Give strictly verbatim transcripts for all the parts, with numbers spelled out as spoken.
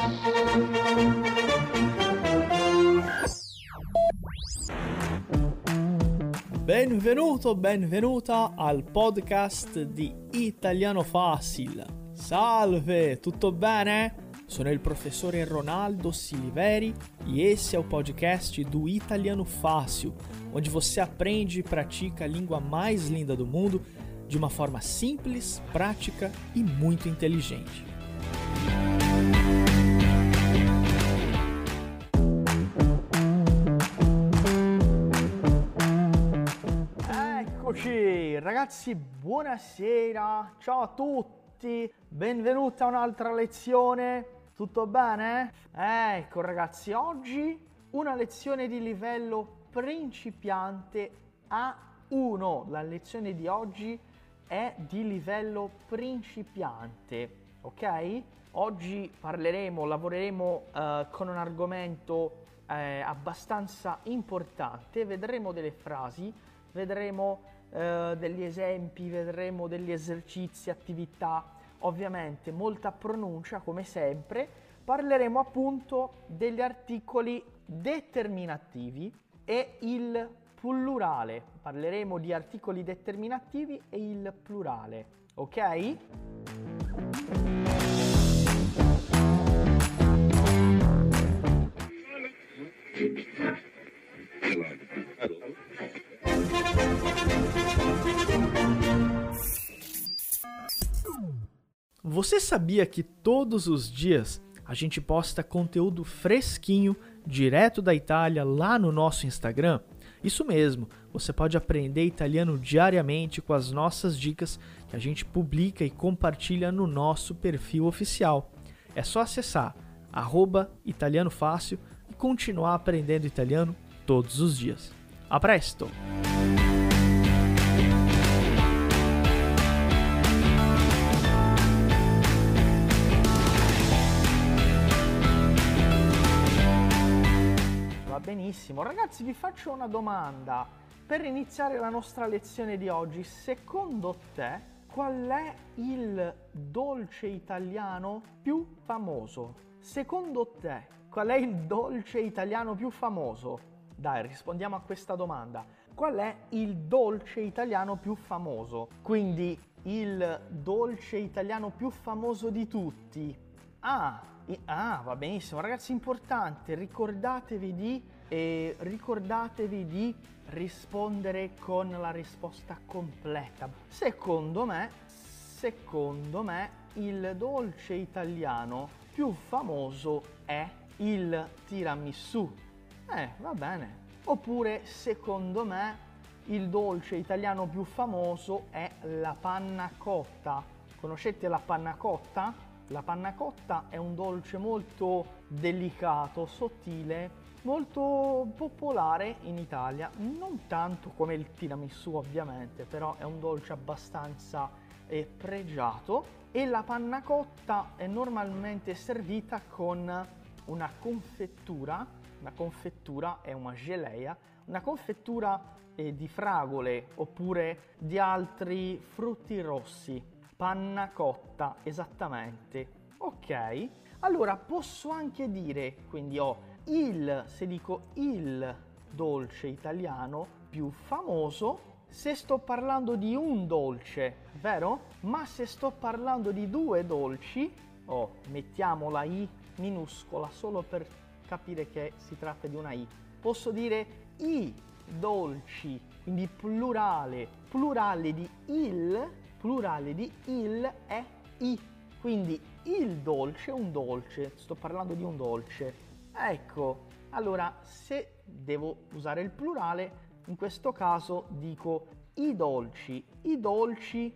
Benvenuto, benvenuta al podcast di Italiano Facile. Salve, tutto bene? Sono il professore Ronaldo Siliveri e esse é o podcast do Italiano Fácil, onde você aprende e pratica a língua mais linda do mundo de uma forma simples, prática e muito inteligente. Eccoci ragazzi, buonasera, ciao a tutti, benvenuti a un'altra lezione, tutto bene? Ecco ragazzi, oggi una lezione di livello principiante A uno, la lezione di oggi è di livello principiante, ok? Oggi parleremo, lavoreremo eh, con un argomento eh, abbastanza importante, vedremo delle frasi, vedremo eh, degli esempi, vedremo degli esercizi, attività, ovviamente molta pronuncia come sempre. Parleremo appunto degli articoli determinativi e il plurale. Parleremo di articoli determinativi e il plurale, ok? Você sabia que todos os dias a gente posta conteúdo fresquinho, direto da Itália, lá no nosso Instagram? Isso mesmo, você pode aprender italiano diariamente com as nossas dicas que a gente publica e compartilha no nosso perfil oficial. É só acessar arroba Italiano Fácil e continuar aprendendo italiano todos os dias. A presto! Benissimo, ragazzi, vi faccio una domanda per iniziare la nostra lezione di oggi. Secondo te qual è il dolce italiano più famoso? Secondo te qual è il dolce italiano più famoso? Dai, rispondiamo a questa domanda. Qual è il dolce italiano più famoso? Quindi il dolce italiano più famoso di tutti. Ah, ah, va benissimo, ragazzi, importante, ricordatevi di E ricordatevi di rispondere con la risposta completa. Secondo me, secondo me, il dolce italiano più famoso è il tiramisù. Eh, va bene. Oppure, secondo me, il dolce italiano più famoso è la panna cotta. Conoscete la panna cotta? La panna cotta è un dolce molto delicato, sottile, molto popolare in Italia, non tanto come il tiramisù ovviamente, però è un dolce abbastanza eh, pregiato, e la panna cotta è normalmente servita con una confettura, una confettura è una geleia, una confettura eh, di fragole oppure di altri frutti rossi. Panna cotta, esattamente. Ok, allora posso anche dire, quindi ho il, se dico il dolce italiano più famoso, se sto parlando di un dolce, vero? Ma se sto parlando di due dolci, oh, mettiamo la I minuscola solo per capire che si tratta di una I. Posso dire i dolci, quindi plurale, plurale di il, plurale di il è i. Quindi il dolce è un dolce, sto parlando di un dolce. Ecco, allora se devo usare il plurale, in questo caso dico i dolci, i dolci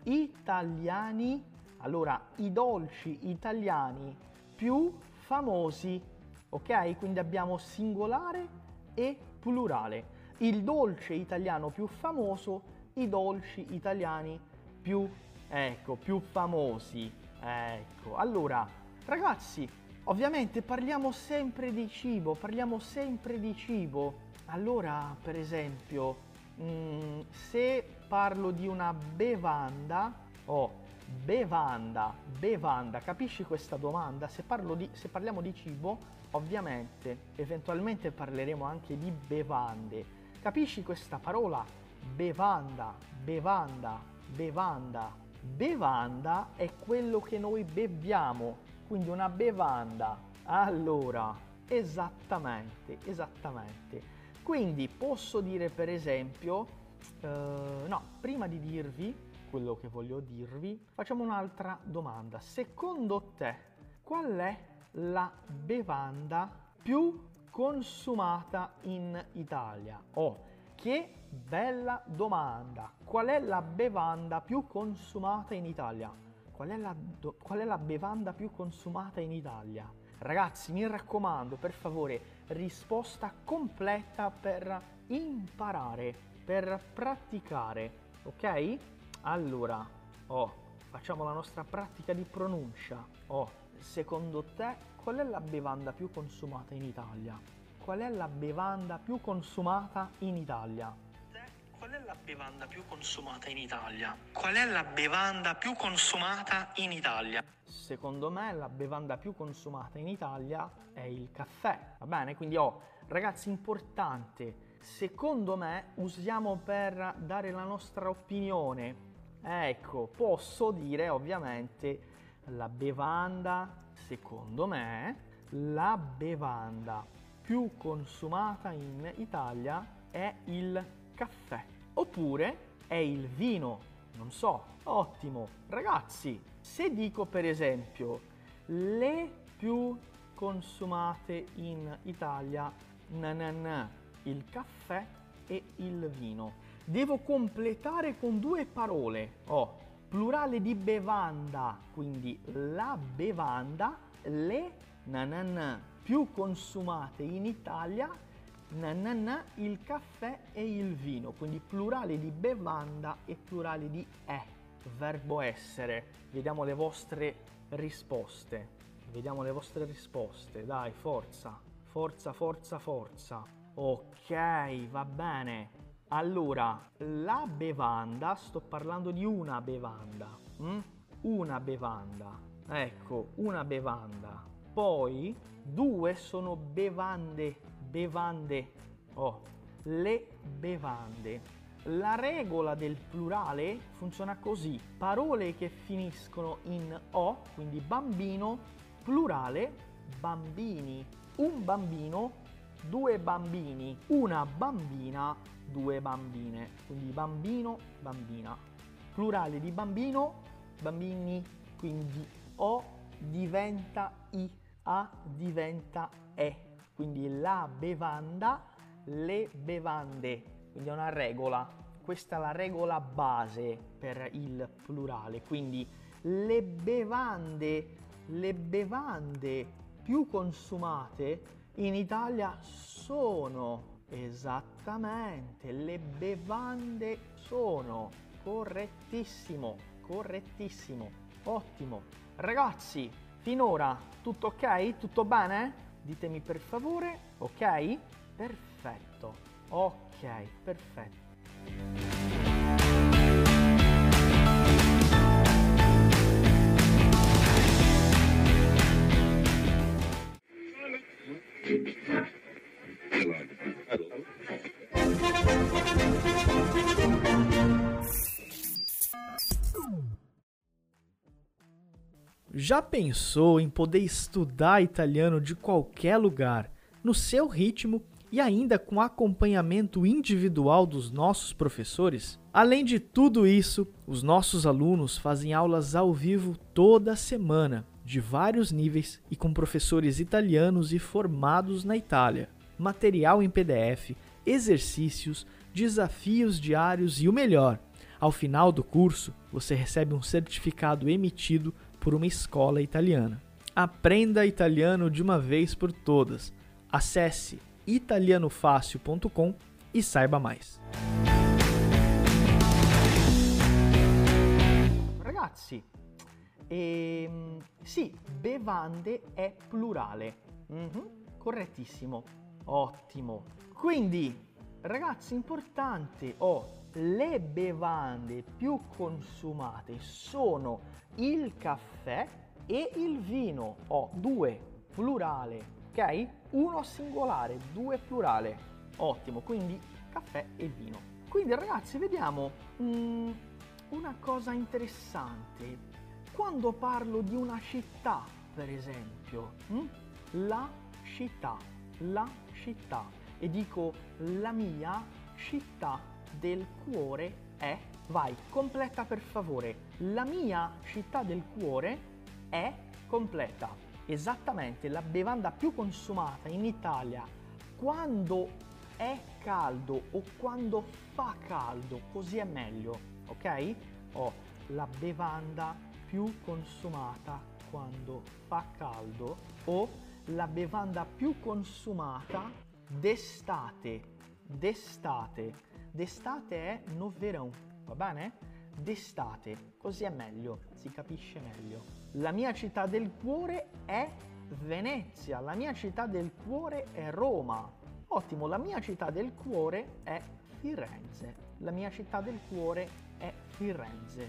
italiani, allora i dolci italiani più famosi, ok? Quindi abbiamo singolare e plurale. Il dolce italiano più famoso, i dolci italiani più, ecco, più famosi. Ecco, allora, ragazzi, ovviamente parliamo sempre di cibo, parliamo sempre di cibo. Allora, per esempio, mh, se parlo di una bevanda, oh, bevanda, bevanda, capisci questa domanda? Se, parlo di, se parliamo di cibo, ovviamente, eventualmente parleremo anche di bevande. Capisci questa parola? Bevanda, bevanda, bevanda. Bevanda è quello che noi beviamo, quindi una bevanda. Allora, esattamente, esattamente. Quindi posso dire per esempio, eh, no, prima di dirvi quello che voglio dirvi, facciamo un'altra domanda. Secondo te, qual è la bevanda più consumata in Italia? Oh, che bella domanda! Qual è la bevanda più consumata in Italia? Qual è la, do- qual è la bevanda più consumata in Italia? Ragazzi, mi raccomando, per favore, risposta completa per imparare, per praticare, ok? Allora, oh, facciamo la nostra pratica di pronuncia. Oh, secondo te, qual è la bevanda più consumata in Italia? Qual è la bevanda più consumata in Italia? Qual è la bevanda più consumata in Italia? Qual è la bevanda più consumata in Italia? Secondo me la bevanda più consumata in Italia è il caffè, va bene? Quindi oh, ragazzi, importante, secondo me usiamo per dare la nostra opinione. Ecco, posso dire ovviamente la bevanda, secondo me, la bevanda più consumata in Italia è il caffè. Oppure è il vino, non so. Ottimo. Ragazzi, se dico per esempio le più consumate in Italia, na na na, il caffè e il vino, devo completare con due parole. Oh, plurale di bevanda, quindi la bevanda, le na na na, più consumate in Italia, na na na, il caffè e il vino, quindi plurale di bevanda e plurale di è, verbo essere. Vediamo le vostre risposte, vediamo le vostre risposte, dai, forza, forza, forza, forza. Ok, va bene. Allora, la bevanda, sto parlando di una bevanda, hm? Una bevanda, ecco, una bevanda. Poi, due sono bevande, bevande, oh, le bevande. La regola del plurale funziona così: parole che finiscono in o, quindi bambino, plurale, bambini. Un bambino, due bambini, una bambina, due bambine. Quindi bambino, bambina. Plurale di bambino, bambini, quindi o diventa i, a diventa e. Quindi la bevanda, le bevande. Quindi è una regola. Questa è la regola base per il plurale. Quindi le bevande, le bevande più consumate in Italia sono, esattamente, le bevande sono. Correttissimo, correttissimo, ottimo. Ragazzi, finora tutto ok? Tutto bene? Ditemi per favore, ok? Perfetto, ok, perfetto. Já pensou em poder estudar italiano de qualquer lugar, no seu ritmo e ainda com acompanhamento individual dos nossos professores? Além de tudo isso, os nossos alunos fazem aulas ao vivo toda semana, de vários níveis e com professores italianos e formados na Itália. Material em P D F, exercícios, desafios diários e o melhor, ao final do curso, você recebe um certificado emitido por uma escola italiana. Aprenda italiano de uma vez por todas. Acesse italianofácil ponto com e saiba mais. Ragazzi, ehm, sì, bevande è plurale. Mm-hmm, correttissimo, ottimo. Quindi, ragazzi, importante, oh, le bevande più consumate sono il caffè e il vino. Ho due plurale, ok? Uno singolare, due plurale. Ottimo, quindi caffè e vino. Quindi ragazzi, vediamo mm, una cosa interessante. Quando parlo di una città, per esempio, mm, la città, la città, e dico la mia città del cuore è, vai, completa per favore, la mia città del cuore è, completa. Esattamente, la bevanda più consumata in Italia quando è caldo o quando fa caldo, così è meglio, ok? Ho la bevanda più consumata quando fa caldo o la bevanda più consumata d'estate, d'estate. D'estate è no verão, va bene? D'estate, così è meglio, si capisce meglio. La mia città del cuore è Venezia, la mia città del cuore è Roma. Ottimo, la mia città del cuore è Firenze. La mia città del cuore è Firenze.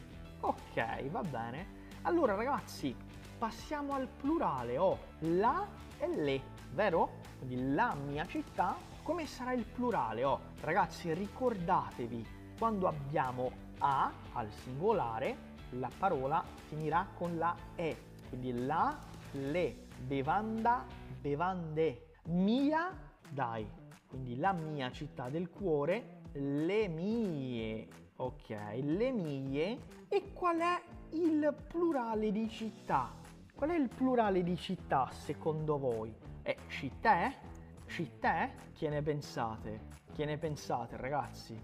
Ok, va bene. Allora ragazzi, passiamo al plurale. Ho la e le, vero? Quindi la mia città. Come sarà il plurale? Oh, ragazzi, ricordatevi, quando abbiamo a al singolare, la parola finirà con la e. Quindi la, le, bevanda, bevande, mia, dai. Quindi la mia città del cuore, le mie. Ok, le mie. E qual è il plurale di città? Qual è il plurale di città secondo voi? È città? Città? Che ne pensate? Che ne pensate, ragazzi?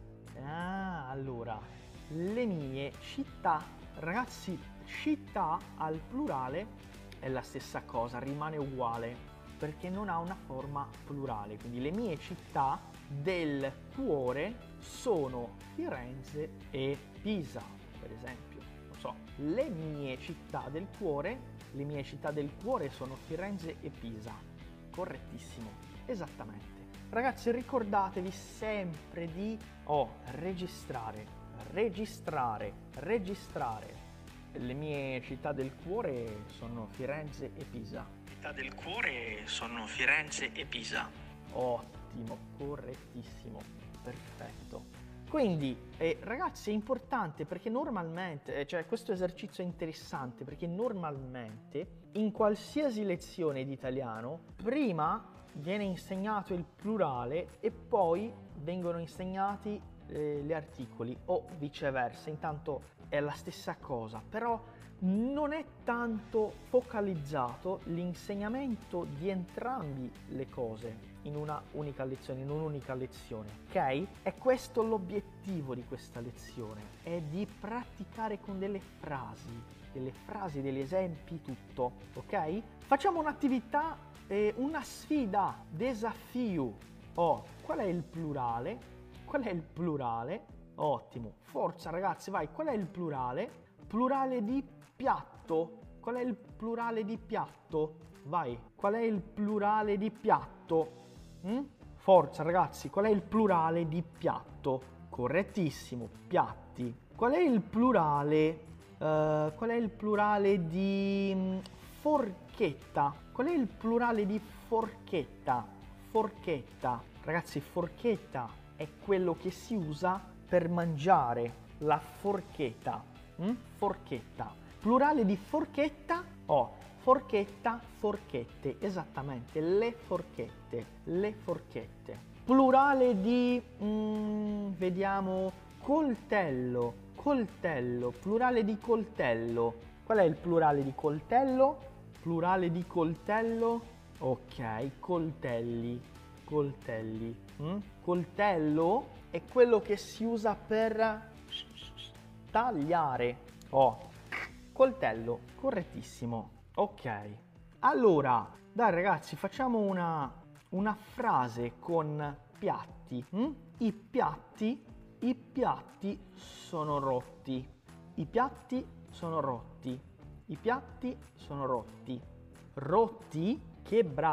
Ah, allora, le mie città, ragazzi, città al plurale è la stessa cosa, rimane uguale, perché non ha una forma plurale. Quindi le mie città del cuore sono Firenze e Pisa, per esempio. Non so, le mie città del cuore, le mie città del cuore sono Firenze e Pisa. Correttissimo. Esattamente. Ragazzi, ricordatevi sempre di oh, registrare, registrare, registrare. Le mie città del cuore sono Firenze e Pisa. Città del cuore sono Firenze e Pisa. Ottimo, correttissimo, perfetto. Quindi, eh, ragazzi, è importante perché normalmente, eh, cioè questo esercizio è interessante perché normalmente in qualsiasi lezione di italiano, prima viene insegnato il plurale e poi vengono insegnati eh, gli articoli o viceversa, intanto è la stessa cosa, però non è tanto focalizzato l'insegnamento di entrambi le cose in una unica lezione, in un'unica lezione, ok? È questo l'obiettivo di questa lezione, è di praticare con delle frasi, delle frasi, degli esempi, tutto, ok? Facciamo un'attività, eh, una sfida, desafio. Oh, qual è il plurale? Qual è il plurale? Ottimo, forza ragazzi, vai, qual è il plurale? Plurale di piatto. Qual è il plurale di piatto? Vai, qual è il plurale di piatto? Mm? Forza ragazzi, qual è il plurale di piatto? Correttissimo, piatti. Qual è il plurale? Uh, qual è il plurale di um, forchetta? Qual è il plurale di forchetta? Forchetta. Ragazzi, forchetta è quello che si usa per mangiare, la forchetta. Mm? Forchetta. Plurale di forchetta? Oh, forchetta, forchette, esattamente, le forchette, le forchette. Plurale di, mm, vediamo, coltello, coltello, plurale di coltello. Qual è il plurale di coltello? Plurale di coltello? Ok, coltelli, coltelli. Mm? Coltello è quello che si usa per tagliare. Oh, coltello, correttissimo. Ok, allora, dai ragazzi, facciamo una, una frase con piatti. Hm? I piatti, i piatti sono rotti. I piatti sono rotti. I piatti sono rotti. Rotti,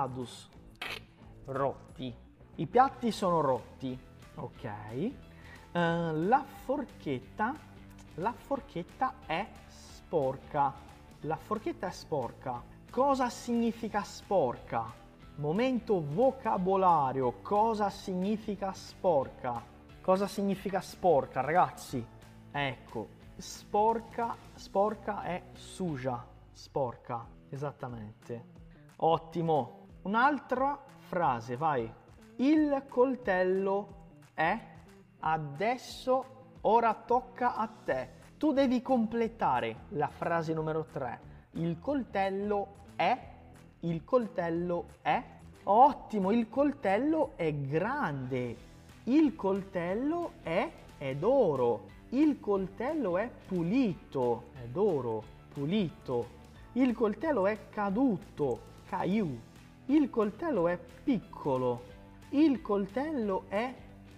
quebrados. Rotti. I piatti sono rotti. Ok. la forchetta, la forchetta è sporca. La forchetta è sporca. Cosa significa sporca? Momento vocabolario. Cosa significa sporca? Cosa significa sporca, ragazzi? Ecco, sporca, sporca è suja. Sporca, esattamente. Ottimo. Un'altra frase, vai. Il coltello è adesso, ora tocca a te. Tu devi completare la frase numero tre. Il coltello è, il coltello è. Ottimo, il coltello è grande. Il coltello è, è d'oro. Il coltello è pulito, è d'oro, pulito. Il coltello è caduto, caillou. Il coltello è piccolo. Il coltello è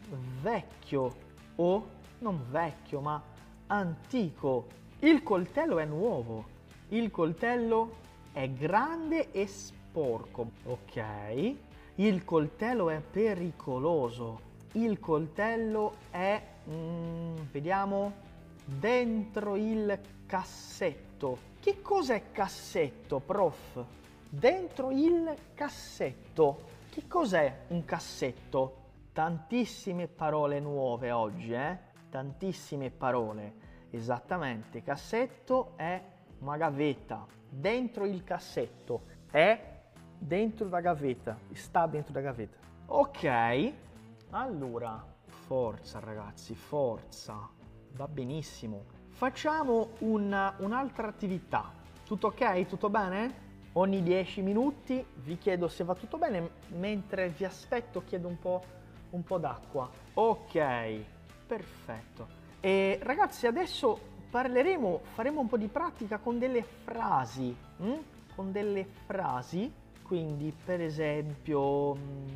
vecchio o non vecchio ma antico. Il coltello è nuovo. Il coltello è grande e sporco. Ok. Il coltello è pericoloso. Il coltello è, mm, vediamo, dentro il cassetto. Che cos'è cassetto, prof? Dentro il cassetto. Che cos'è un cassetto? Tantissime parole nuove oggi, eh? Tantissime parole. Esattamente, cassetto è una gavetta. Dentro il cassetto. È dentro la gavetta. Sta dentro la gavetta. Ok. Allora, forza ragazzi, forza. Va benissimo. Facciamo una, un'altra attività. Tutto ok? Tutto bene? Ogni dieci minuti vi chiedo se va tutto bene, mentre vi aspetto chiedo un po', un po' d'acqua. Ok, perfetto. E ragazzi, adesso parleremo, faremo un po' di pratica con delle frasi, hm? Con delle frasi, quindi per esempio,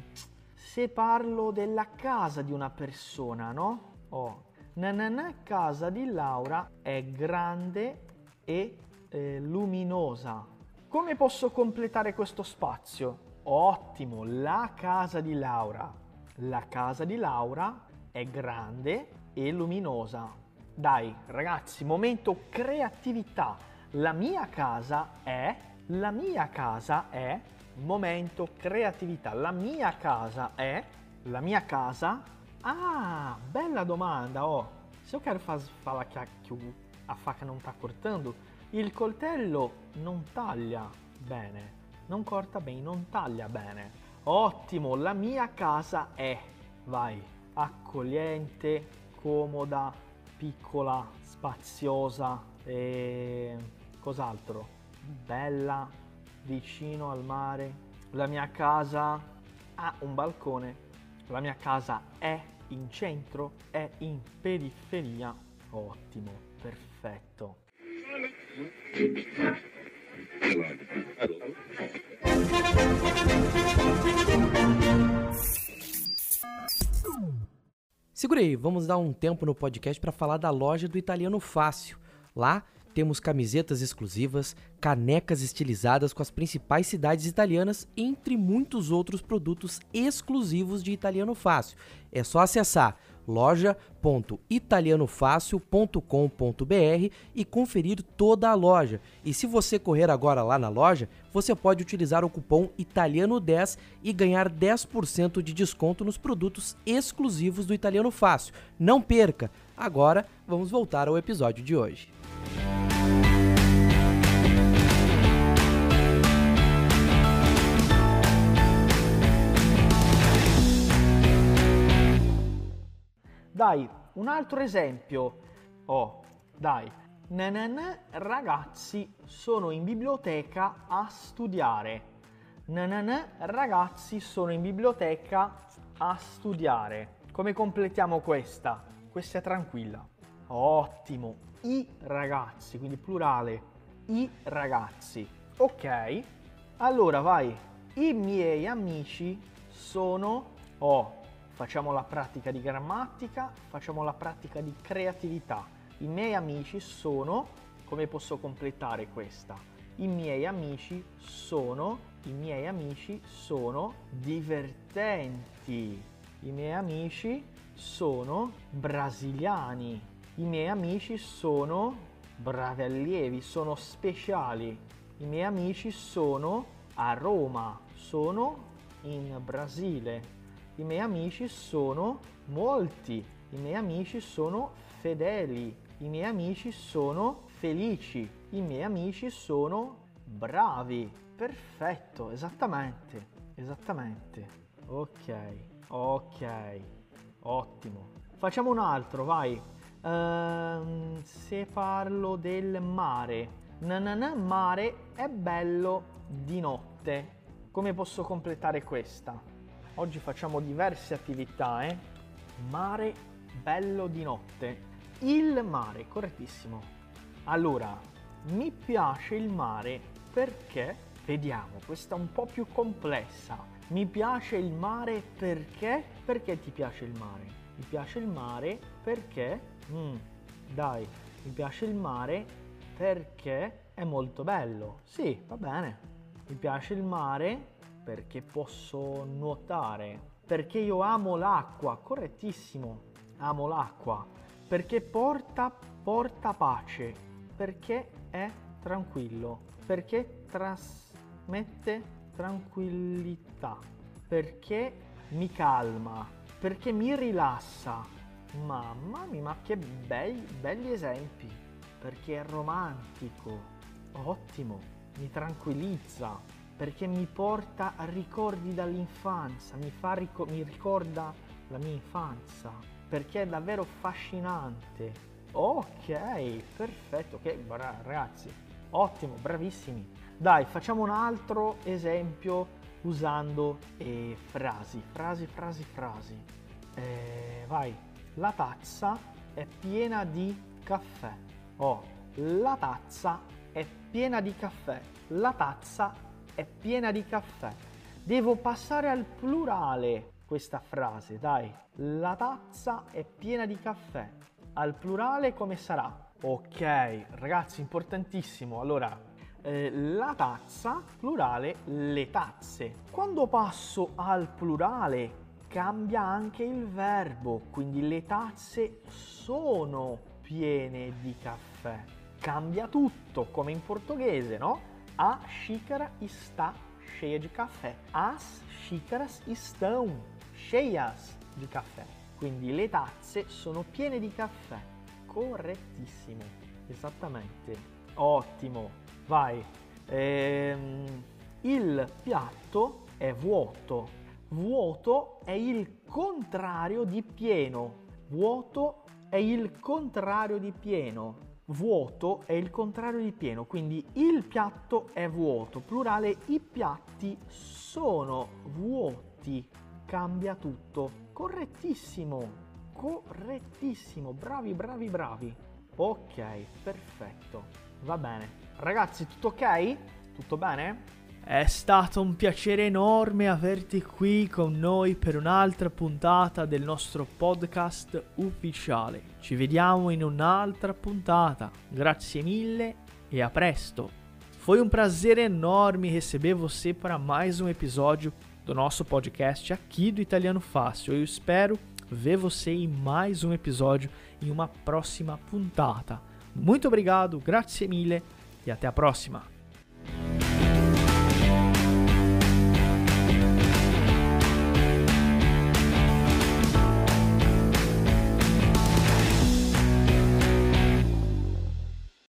se parlo della casa di una persona, no? Oh, nanana, casa di Laura è grande e eh, luminosa. Come posso completare questo spazio? Ottimo, la casa di Laura. La casa di Laura è grande e luminosa. Dai, ragazzi, momento creatività. La mia casa è, la mia casa è, momento creatività. La mia casa è, la mia casa. Ah, bela domanda, ó. Se eu quero faz, falar que a, que o, a faca não tá cortando, il coltello non taglia bene, non corta bene, non taglia bene. Ottimo, la mia casa è, vai, accogliente, comoda, piccola, spaziosa e cos'altro? Bella, vicino al mare. La mia casa ha un balcone. La mia casa è in centro, è in periferia. Ottimo, perfetto. Segura aí, vamos dar um tempo no podcast para falar da loja do Italiano Fácil. Lá temos camisetas exclusivas, canecas estilizadas com as principais cidades italianas, entre muitos outros produtos exclusivos de Italiano Fácil. É só acessar loja ponto italiano fácil ponto com ponto br e conferir toda a loja. E se você correr agora lá na loja, você pode utilizar o cupom italiano dez e ganhar dez por cento de desconto nos produtos exclusivos do Italiano Fácil. Não perca! Agora vamos voltar ao episódio de hoje. Dai, un altro esempio. Oh, dai. Nanana, ragazzi, sono in biblioteca a studiare. Nanana, ragazzi, sono in biblioteca a studiare. Come completiamo questa? Questa è tranquilla. Ottimo. I ragazzi, quindi plurale. I ragazzi. Ok. Allora, vai. I miei amici sono... Oh, facciamo la pratica di grammatica, facciamo la pratica di creatività. I miei amici sono, come posso completare questa? I miei amici sono, i miei amici sono divertenti. I miei amici sono brasiliani. I miei amici sono bravi allievi, sono speciali. I miei amici sono a Roma, sono in Brasile. I miei amici sono molti. I miei amici sono fedeli. I miei amici sono felici. I miei amici sono bravi. Perfetto, esattamente, esattamente. Ok, ok, ottimo. Facciamo un altro, vai. Uh, se parlo del mare. Nanana, mare è bello di notte. Come posso completare questa? Oggi facciamo diverse attività, eh? Mare bello di notte. Il mare, correttissimo. Allora, mi piace il mare perché, vediamo, questa è un po' più complessa. Mi piace il mare perché? Perché ti piace il mare? Mi piace il mare perché? Mm, dai, mi piace il mare perché è molto bello. Sì, va bene. Mi piace il mare perché posso nuotare. Perché io amo l'acqua, correttissimo. Amo l'acqua. Perché porta, porta pace. Perché è tranquillo. Perché trasmette tranquillità. Perché mi calma. Perché mi rilassa. Mamma mia, ma che bei, belli esempi. Perché è romantico. Ottimo. Mi tranquillizza. Perché mi porta a ricordi dall'infanzia. Mi, fa ric- mi ricorda la mia infanzia. Perché è davvero affascinante. Ok, perfetto. Ok, bra- ragazzi. Ottimo, bravissimi. Dai, facciamo un altro esempio usando eh, frasi. Frasi, frasi, frasi. Eh, vai. La tazza è piena di caffè. Oh, la tazza è piena di caffè. La tazza è piena di caffè. Devo passare al plurale questa frase, dai. La tazza è piena di caffè. Al plurale come sarà? Ok, ragazzi, importantissimo. Allora, eh, la tazza, plurale, le tazze. Quando passo al plurale cambia anche il verbo, quindi le tazze sono piene di caffè. Cambia tutto, come in portoghese, no? A xícara está cheia de café. As xícaras estão cheias di caffè. Quindi le tazze sono piene di caffè. Correttissimo, esattamente. Ottimo, vai. Ehm, il piatto è vuoto. Vuoto è il contrario di pieno. Vuoto è il contrario di pieno. Vuoto è il contrario di pieno, quindi il piatto è vuoto. Plurale, i piatti sono vuoti. Cambia tutto. Correttissimo, correttissimo. Bravi, bravi, bravi. Ok, perfetto. Va bene. Ragazzi, tutto ok? Tutto bene? È stato un piacere enorme averti qui con noi per un'altra puntata del nostro podcast ufficiale. Ci vediamo in un'altra puntata. Grazie mille e a presto. Foi um prazer enorme receber você para mais um episódio do nosso podcast aqui do Italiano Fácil. Eu espero ver você em mais um episódio em uma próxima puntata. Muito obrigado, grazie mille e até a próxima.